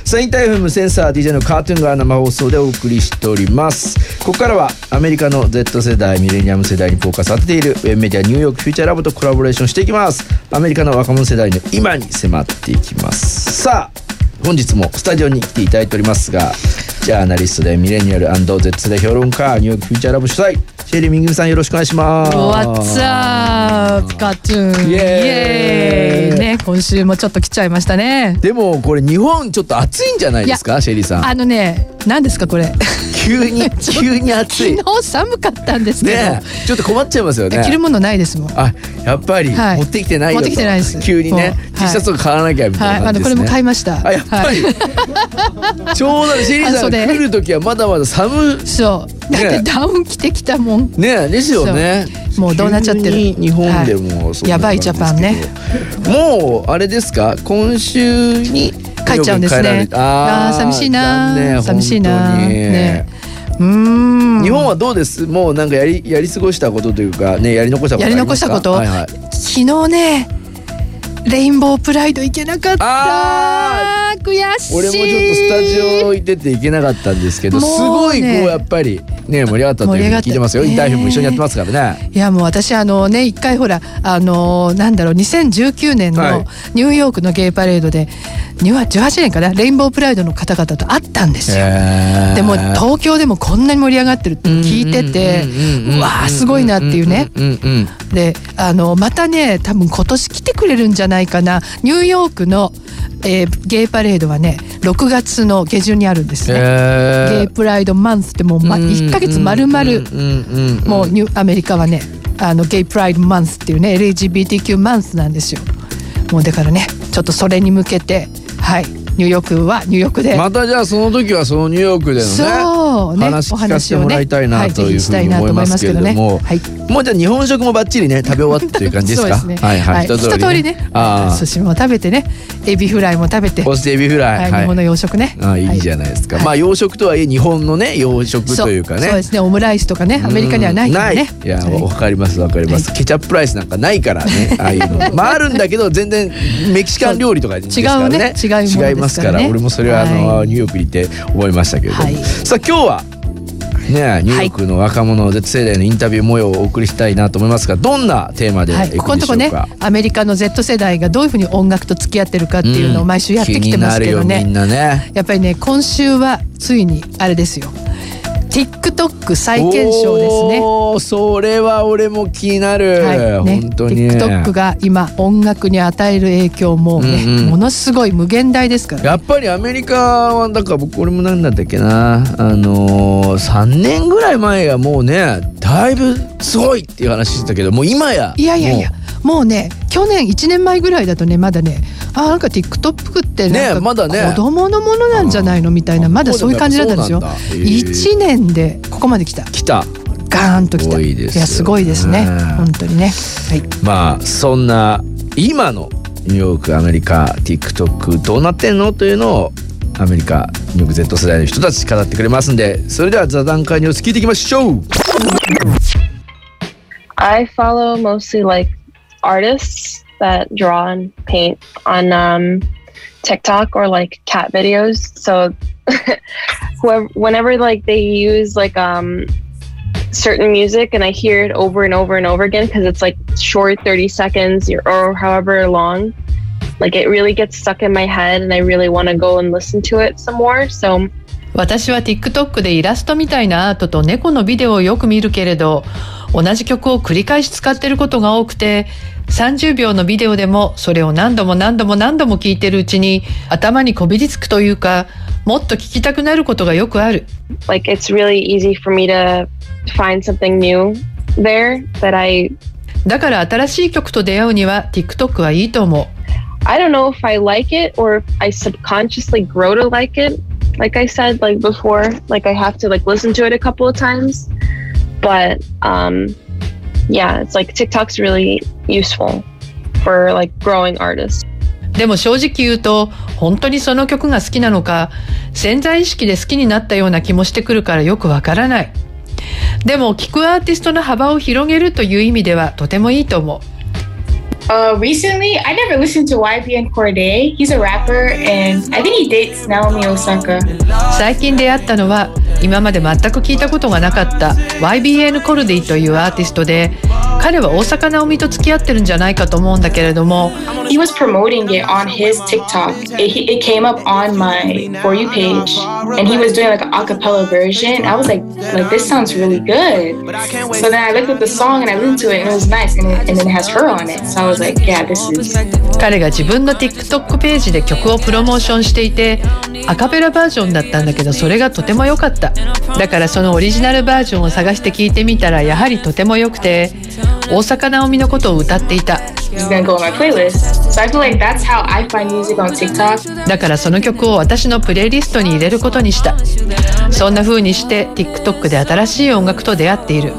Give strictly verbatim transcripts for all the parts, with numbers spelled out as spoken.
さあインター エフエム センサー ディージェー のカートゥーンが生放送でお送りしております。ここからはアメリカの Z 世代ミレニアム世代にフォーカスを当てているウェブメディアニューヨークフューチャーラボとコラボレーションしていきます。アメリカの若者世代の今に迫っていきます。さあ本日もスタジオに来ていただいておりますが、ジャーナリストでミレニアル &Z 世代評論家、ニューヨークフューチャーラボ主催シェリーミングさん、よろしくお願いします。 What's up カートゥーンイエーイね、今週もちょっと来ちゃいましたね。 でもこれ日本ちょっと暑いんじゃないですか、シェリーさん。 あのね、何ですかこれ急に急に暑い昨日寒かったんですけど、ね、 ちょっと困っちゃいますよね。 着るものないですもん。 あ、やっぱり、はい、持ってきてないよと。 持ってきてないです。 急にね、T シャツを買わなきゃみたいな感じですね。 はい、あのこれも買いました。 あ、やっぱり、はい、ちょうどシェリーさんが来る時はまだまだ寒い。 そうだってダウン着てきたもんね。ですよね。 もうどうなっちゃってる。 日本でも、はい、 やばいジャパンね。 もうあれですか、今週に帰っちゃうんですね。ああ、寂しいな、ね、寂しいなね。うーん、 日本はどうです？もうなんかやりやり過ごしたことというかね、やり残したことありますか？ やり残したこと、はいはい、昨日ねレインボープライド行けなかった。あー、悔しい。 俺もちょっとスタジオ行ってて行けなかったんですけど、ね、すごいこうやっぱりね盛り上がったというふうに聞いてますよ。インターフェも一緒にやってますからね。 いやもう私あのね一回ほらあのなんだろうにせんじゅうきゅうねんのニューヨークのゲイパレードでじゅうはちねんかな、レインボープライドの方々と会ったんですよ。でも東京でもこんなに盛り上がってるって聞いてて、うわーすごいなっていうね。であのまたね多分今年来てくれるんじゃないかな。ニューヨークの、えー、ゲイパレードはねろくがつの下旬にあるんですね。ゲイプライドマンスってもう、ま、いっかげつまるまるもうニュアメリカはねあのゲイプライドマンスっていうね エルジービーティーキュー マンスなんですよ。もうだからねちょっとそれに向けてはいニューヨークはニューヨークでまたじゃあその時はそのニューヨークでのねそうね話聞かせてもらいたいなというふうに思いますけれども、はい、もうじゃあ日本食もバッチリね食べ終わったという感じですか？ そうですね、はいはい、一通りね、寿司も食べてねエビフライも食べて、 そしてエビフライ、 はい、日本の洋食ね。 ああいいじゃないですか、はい、まあ洋食とはいえ日本のね洋食というかね、 そうですね、オムライスとかねアメリカにはないからね。 いやわかりますわかります、はい、ケチャップライスなんかないからねああいうのまああるんだけど全然メキシカン料理とかですからね、 違うね違うものですからね。 違いますから俺もそれはあの、はい、ニューヨークにいて思いましたけれども、はい、さあ今日はね、ニューヨークの若者 Z 世代のインタビュー模様をお送りしたいなと思いますが、どんなテーマでいくでしょうか？はい、ここのとこねアメリカの Z 世代がどういうふうに音楽と付き合ってるかっていうのを毎週やってきてますけどね、うん、気になるよみんなね。やっぱりね今週はついにあれですよ、TikTok 再検証ですね。 おそれは俺も気になる、はいね、本当に TikTok が今音楽に与える影響もね、うんうん、ものすごい無限大ですから、ね、 やっぱりアメリカはだから僕俺も何だったっけな、あのー、さんねんぐらい前はもうねだいぶすごいっていう話してたけど、もう今やいやいやいやもうね去年いちねんまえぐらいだとねまだねあなんか TikTok ってなんか、ねまだね、子供のものなんじゃないのみたいな、まだそういう感じだったんですよ。いちねんでここまで来た来たガーンと来た。いやすごいですね本当にね、はい、 まあそんな今のニューヨークアメリカ TikTok どうなってんのというのをアメリカニューヨーク Z 世代の人たち語ってくれますんで、それでは座談会ニュース聞いていきましょう。 I follow mostly like artists that draw and paint on um, TikTok or like cat videos. So whoever, whenever like they use like um, certain music and I hear it over and over and over again because it's like short thirty seconds or however long, like it really gets stuck in my head and I really want to go and listen to it some more. So 私は TikTok でイラストみたいなアートと猫のビデオをよく見るけれど、同じ曲を繰り返し使ってることが多くて、さんじゅうびょうのビデオでもそれを何度も何度も何度も聞いてるうちに頭にこびりつくというか、もっと聞きたくなることがよくある。 Like it's really easy for me to find something new there that I だから新しい曲と出会うには TikTok はいいと思う。 I don't know if I like it or if I subconsciously grow to like it. Like I said, like before, like I have to like listen to it a couple of times. But um, yeah, it's like TikTok's really useful for like growing artists. でも正直言うと本当にその曲が好きなのか、潜在意識で好きになったような気もしてくるからよくわからない。でも聴くアーティストの幅を広げるという意味ではとてもいいと思う。 Uh, recently, I never listened to Y B N Corday. He's a rapper, and I think he dates Naomi Osaka. 最近出会ったのは今まで全く聞いたことがなかった ワイビーエヌ コルディというアーティストで、彼は大坂なおみと付き合ってるんじゃないかと思うんだけれども、 He was promoting it on his TikTok. It, it came up on my For You page, and he was doing like an a cappella version. I was like, like this sounds really good. So then I looked at the song and I listened to it, and it was nice, and, it, and then it has her on it. So I was like, yeah, this is. 彼が自分の TikTok ページで曲をプロモーションしていて、アカペラバージョンだったんだけど、それがとても良かった。だからそのオリジナルバージョンを探して聞いてみたら、やはりとても良くて、大坂なおみのことを歌っていた。 It's gonna go on my playlist. So I feel like that's how I find music on TikTok. だからその曲を私のプレイリストに入れることにした。そんな風にして TikTok で新しい音楽と出会っている。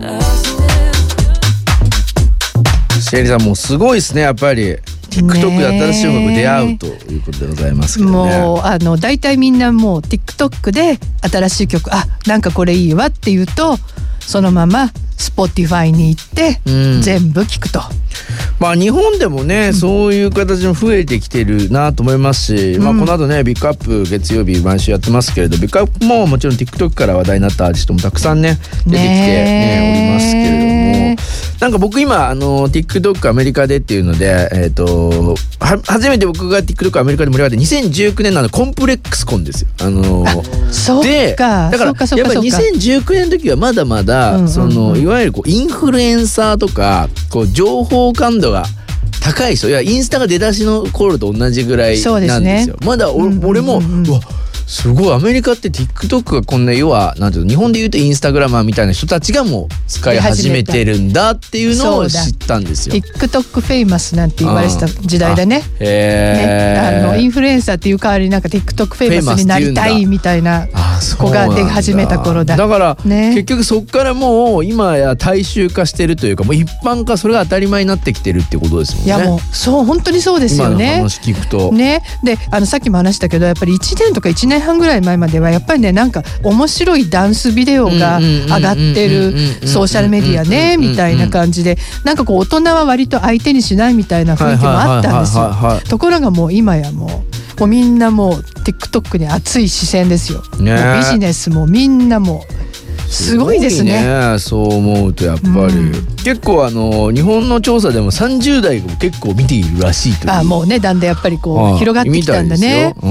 シェリーさんもうすごいですね、やっぱり TikTok で新しい音楽出会うということでございますけどね。 もうあの大体みんなもう TikTok で新しい曲、あ、なんかこれいいわって言うとそのまま Spotify に行って全部聞くと、うん、 まあ日本でもね、うん、そういう形も増えてきてるなと思いますし、うん、まあこの後ねビッグアップ月曜日毎週やってますけれど、ビッグアップももちろん TikTok から話題になったアーティストもたくさんね出てきて、ね、おりますけれども、なんか僕今あの TikTok アメリカでっていうので、えー、とは初めて僕が TikTok アメリカで盛り上がってにせんじゅうきゅうねんのあのコンプレックスコンですよ。あのあそうかでだからやっぱりにせんじゅうきゅうねんの時はまだまだ、うんうんうん、そのいわゆるこうインフルエンサーとかこう情報感度が高い人、いやインスタが出だしの頃と同じぐらいなんですよ。ですね、まだお、うんうんうんうん、俺もうわすごいアメリカって TikTok がこんな要はなんていうの日本でいうとインスタグラマーみたいな人たちがもう使い始めてるんだっていうのを知ったんですよ。 TikTok フェイマスなんて言われてた時代だね。 へー、 ね、あのインフルエンサーっていう代わりになんか TikTok フェイマスになりたいみたいな子が出始めた頃だ。 だから、ね、結局そっからもう今や大衆化してるというかもう一般化それが当たり前になってきてるってことですもんね。 いやもうそう本当にそうですよね。 今の話聞くとね、であのさっきも話したけどやっぱりいちねんとかいちねんはんぐらい前まではやっぱりねなんか面白いダンスビデオが上がってるソーシャルメディアねみたいな感じでなんかこう大人は割と相手にしないみたいな雰囲気もあったんですよ。ところがもう今やもうもうみんなもう TikTok に熱い視線ですよ、ね、もうビジネスもみんなもうすごいですね。 すごいね、そう思うとやっぱり、うん、結構あの日本の調査でもさんじゅう代も結構見ているらしいという。 あもうねだんだんやっぱりこう広がってきたんだね。 うん、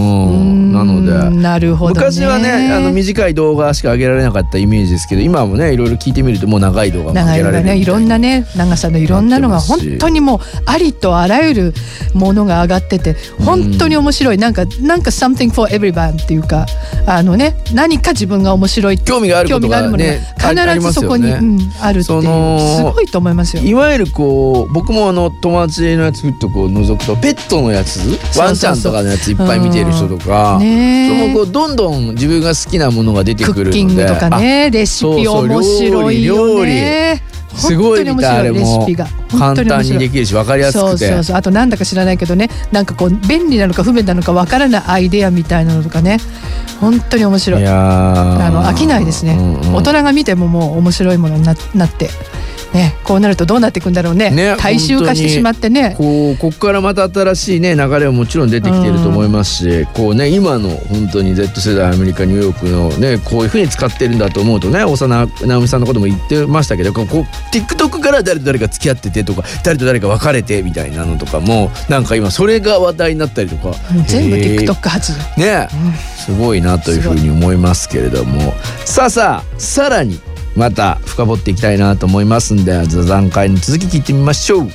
なのでなるほど、ね、 昔はねあの短い動画しか上げられなかったイメージですけど今もねいろいろ聞いてみるともう長い動画も上げられるみたいな、 ね、いろんなね長さのいろんなのが本当にもうありとあらゆるものが上がってて本当に面白い、うん、なんかなんか something for everyone っていうかあのね何か自分が面白い興味があることがね必ずそこに あ,、ねうん、あるっていうすごいと思いますよ。 いわゆるこう僕もあの友達のやつふっとこう覗くとペットのやつワンちゃんとかのやついっぱい見てる人とか、うんね、そのこうどんどん自分が好きなものが出てくるのでクッキングとかねレシピ面白いよね。 すごいみたいあれも簡単にできるし分かりやすくてそうそうそうあとなんだか知らないけどねなんかこう便利なのか不便なのか分からないアイデアみたいなのとかね本当に面白い。 いやあの飽きないですね、うんうん、大人が見てももう面白いものに な, なってね、こうなるとどうなっていくんだろう ね, ね大衆化してしまってねこうここからまた新しい、ね、流れはもちろん出てきていると思いますし、うん、こうね、今の本当に Z 世代アメリカニューヨークの、ね、こういうふうに使ってるんだと思うとね幼直美さんのことも言ってましたけどこうこう TikTok から誰と誰が付き合っててとか誰と誰が別れてみたいなのとかもなんか今それが話題になったりとか全部 TikTok 発ね、うん、すごいなというふうに思いますけれどもさあさあさらにまた深掘っていきたいなと思いますんで座談会の続き聞いてみましょう。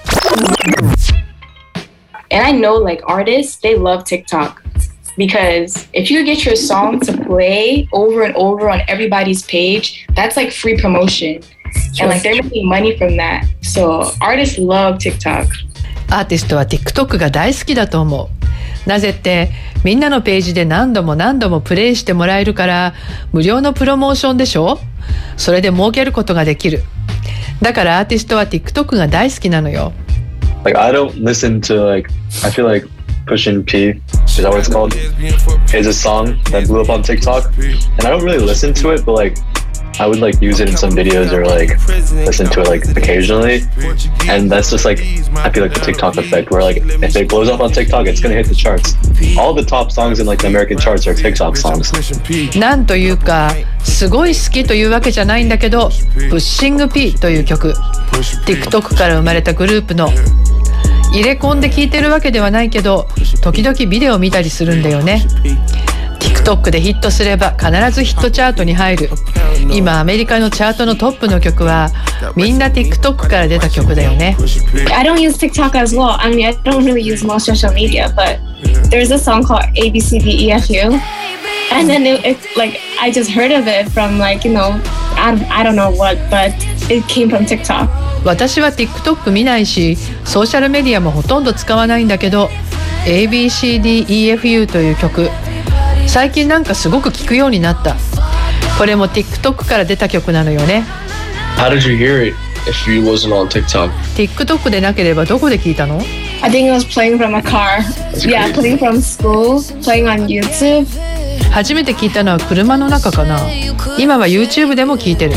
And I know like artists they love TikTok because if you get your song to play over and over on everybody's page that's like free promotion and like they're making money from that so artists love TikTok。 アーティストは TikTok が大好きだと思う。なぜってみんなのページで何度も何度もプレイしてもらえるから無料のプロモーションでしょ。それで儲けることができる。だからアーティストは TikTok が大好きなのよ。 Like I don't listen to like I feel like Pushin P is that what it's called is a song that blew up on TikTok and I don't really listen to it but like I would like use it in some videos or like listen to it like occasionally, and that's just like I feel like the TikTok effect where like if it blows up on TikTok, it's gonna hit the charts. All the top songs in like the American charts are TikTok songs. なんというかすごい好きというわけじゃないんだけど、プッシング P という曲、 TikTok から生まれたグループの。入れ込んで聴いてるわけではないけど、時々ビデオ見たりするんだよね。 TikTok でヒットすれば必ずヒットチャートに入る。今アメリカのチャートのトップの曲はみんな TikTok から出た曲だよね。 I don't use TikTok as well. I mean, I don't really use most social media, but there's a song called A B C D E F U, and then it, it like I just heard of it from like you know I I don't know what, but it came from TikTok. 私は TikTok 見ないしソーシャルメディアもほとんど使わないんだけど エービーシーディーイーエフユー という曲最近なんかすごく聞くようになった。これも TikTok から出た曲なのよね。 How did you hear it if you wasn't on TikTok? TikTok でなければどこで聞いたの？ I think it was playing from a car. Yeah, playing from school, playing on YouTube. 初めて聞いたのは車の中かな。今は YouTube でも聞いてる。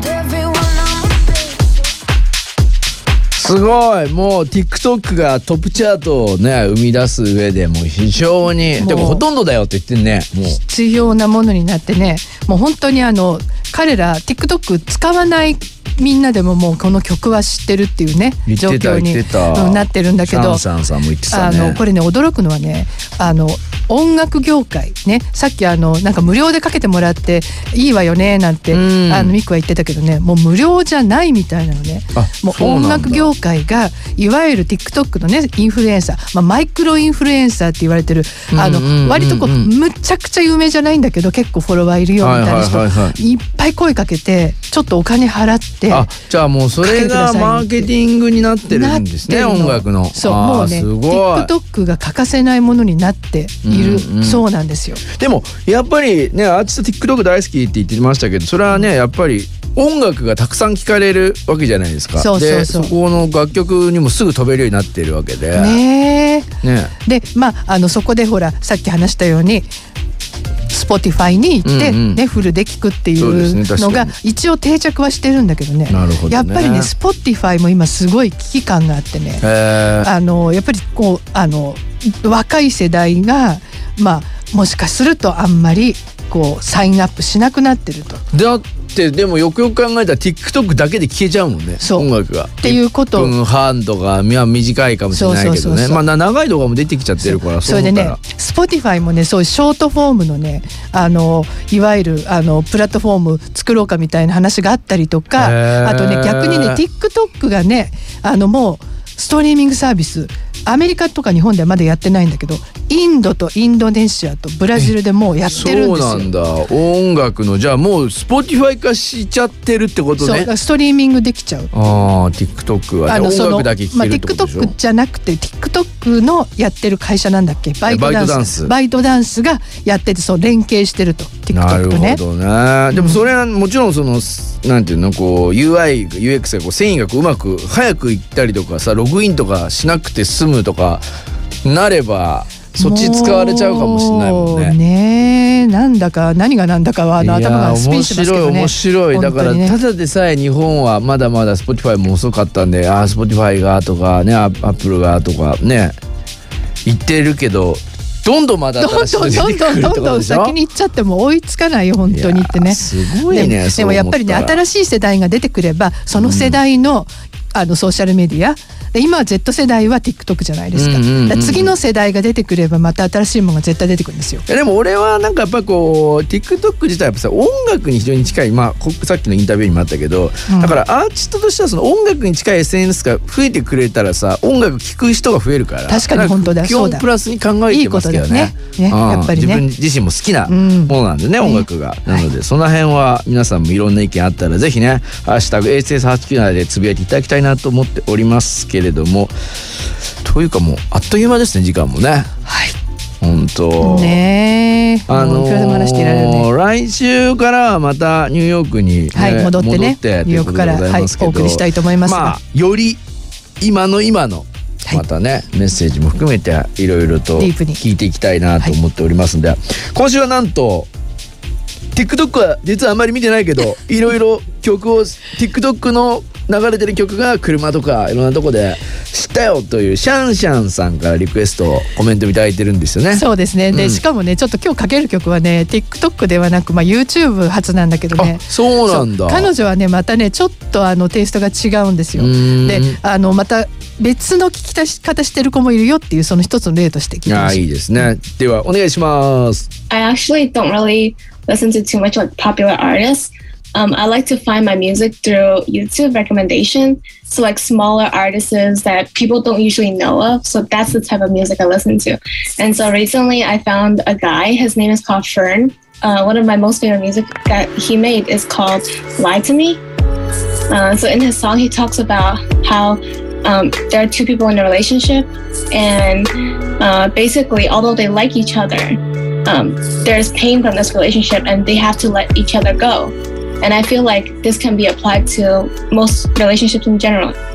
すごい、もう TikTok がトップチャートをね生み出す上でもう非常にでもほとんどだよって言ってんね。もう必要なものになってね、もう本当にあの彼ら TikTok 使わないみんなでももうこの曲は知ってるっていうね状況になってるんだけど、 シャンさんも言ってたね。 あのこれね驚くのはね、あの音楽業界ね、さっきあのなんか無料でかけてもらっていいわよねなんて、うん、あのミクは言ってたけどね、もう無料じゃないみたいなのね。もう音楽業界がいわゆる TikTok のねインフルエンサー、まあ、マイクロインフルエンサーって言われてる、あの割とこうむちゃくちゃ有名じゃないんだけど結構フォロワーいるよみたいな人、はいはいはいはい、いっぱい声かけてちょっとお金払って、あ、じゃあもうそれがマーケティングになってるんですね、音楽の。そう、もうね TikTok が欠かせないものになっている、うんうん、そうなんですよ。でもやっぱりねアーティスト TikTok 大好きって言ってましたけど、それはねやっぱり音楽がたくさん聴かれるわけじゃないですか。そうそうそう。でそこの楽曲にもすぐ飛べるようになっているわけでね。ねでまああのそこでほらさっき話したようにSpotify に行って、うんうんね、フルで聴くっていうのが一応定着はしてるんだけどね。なるほどね。やっぱりね Spotify も今すごい危機感があってね、あのやっぱりこうあの若い世代がまあもしかするとあんまりこうサインアップしなくなってると。だってでもよくよく考えたら TikTok だけで聴けちゃうもんね、音楽が。っていうこと。いっぷんはんとか短いかもしれないけどね。まあ長い動画も出てきちゃってるから。それでね Spotify もねそういうショートフォームのねあのいわゆるあのプラットフォーム作ろうかみたいな話があったりとか、あとね逆にね TikTok がねあのもうストリーミングサービスアメリカとか日本ではまだやってないんだけど、インドとインドネシアとブラジルでもうやってるんですよ。そうなんだ。音楽のじゃあもう Spotify 化しちゃってるってことね。そう、ストリーミングできちゃう。ああ TikTok は、ね、音楽だけ聴けるってことでしょ。まあ、TikTok じゃなくて TikTok のやってる会社なんだっけ、バイトダンス。バイトダンス。バイトダンスがやっててそう連携してると TikTok とね。なるほどね。でもそれはもちろんそのなんていうのこう ユーアイ ユーエックス がこう繊維がこううまく早くいったりとかさ、ログインとかしなくて済むとかなればそっち使われちゃうかもしれないもんね。ねえ、なんだか何がなんだかはあの頭がスピンしますけどね。面白い面白い。だからただでさえ日本はまだまだ Spotify も遅かったんで、ああ Spotify がとかね、Apple がとかね言ってるけど、どんどんまだ新しいの出てくるってことでしょ。どんどんどんどん先に行っちゃっても追いつかないよ本当にってね。すごいね。でも、でもやっぱりね新しい世代が出てくればその世代の、うん、あのソーシャルメディアで今は Z 世代は TikTok じゃないですか。うんうんうんうん、だから次の世代が出てくればまた新しいものが絶対出てくるんですよ。でも俺はなんかやっぱこう TikTok 自体やっぱさ音楽に非常に近い、まあさっきのインタビューにもあったけど、うん、だからアーティストとしてはその音楽に近い エスエヌエス が増えてくれたらさ音楽聴く人が増えるから。確かに本当だ。基本プラスに考えてますけどね。いいことだね。ね、うん、やっぱりね。自分自身も好きなものなんでね、うん、音楽が。なので、はい、その辺は皆さんもいろんな意見あったらぜひねハッシュタグ エーエスエスはちきゅうなな でつぶやいていただきたいなと思っておりますけれども。というかもうあっという間ですね時間もね。はい。本当。ねえ。あのー、来週からはまたニューヨークに、ね、はい、戻ってね。戻ってニューヨークから、はい、お送りしたいと思いますが。まあより今の今のまたね、はい、メッセージも含めていろいろと聞いていきたいなと思っておりますので、はい、今週はなんと TikTok は実はあんまり見てないけど、いろいろ曲を TikTok の流れてる曲が車とかいろんなとこで知ったよというシャンシャンさんからリクエストコメントいただいてるんですよね。 そうですね。で、 うん、しかもねちょっと今日かける曲はね TikTok ではなく、まあ、YouTube 発なんだけどね。 そうなんだ。 彼女はねまたねちょっとあのテイストが違うんですよ。で、あのまた別の聞き出し方してる子もいるよっていうその一つの例として聞いてほしい。 あ、いいですね。ではお願いします。 I actually don't really listen to too much like popular artists. Um, I like to find my music through YouTube recommendation. So like smaller artists that people don't usually know of. So that's the type of music I listen to. And so recently I found a guy, his name is called Fern. Uh, one of my most favorite music that he made is called Lie to Me. Uh, so in his song, he talks about how um, there are two people in a relationship. And uh, basically, although they like each other, um, there's pain from this relationship and they have to let each other go. And I feel like this can be applied to most relationships in general.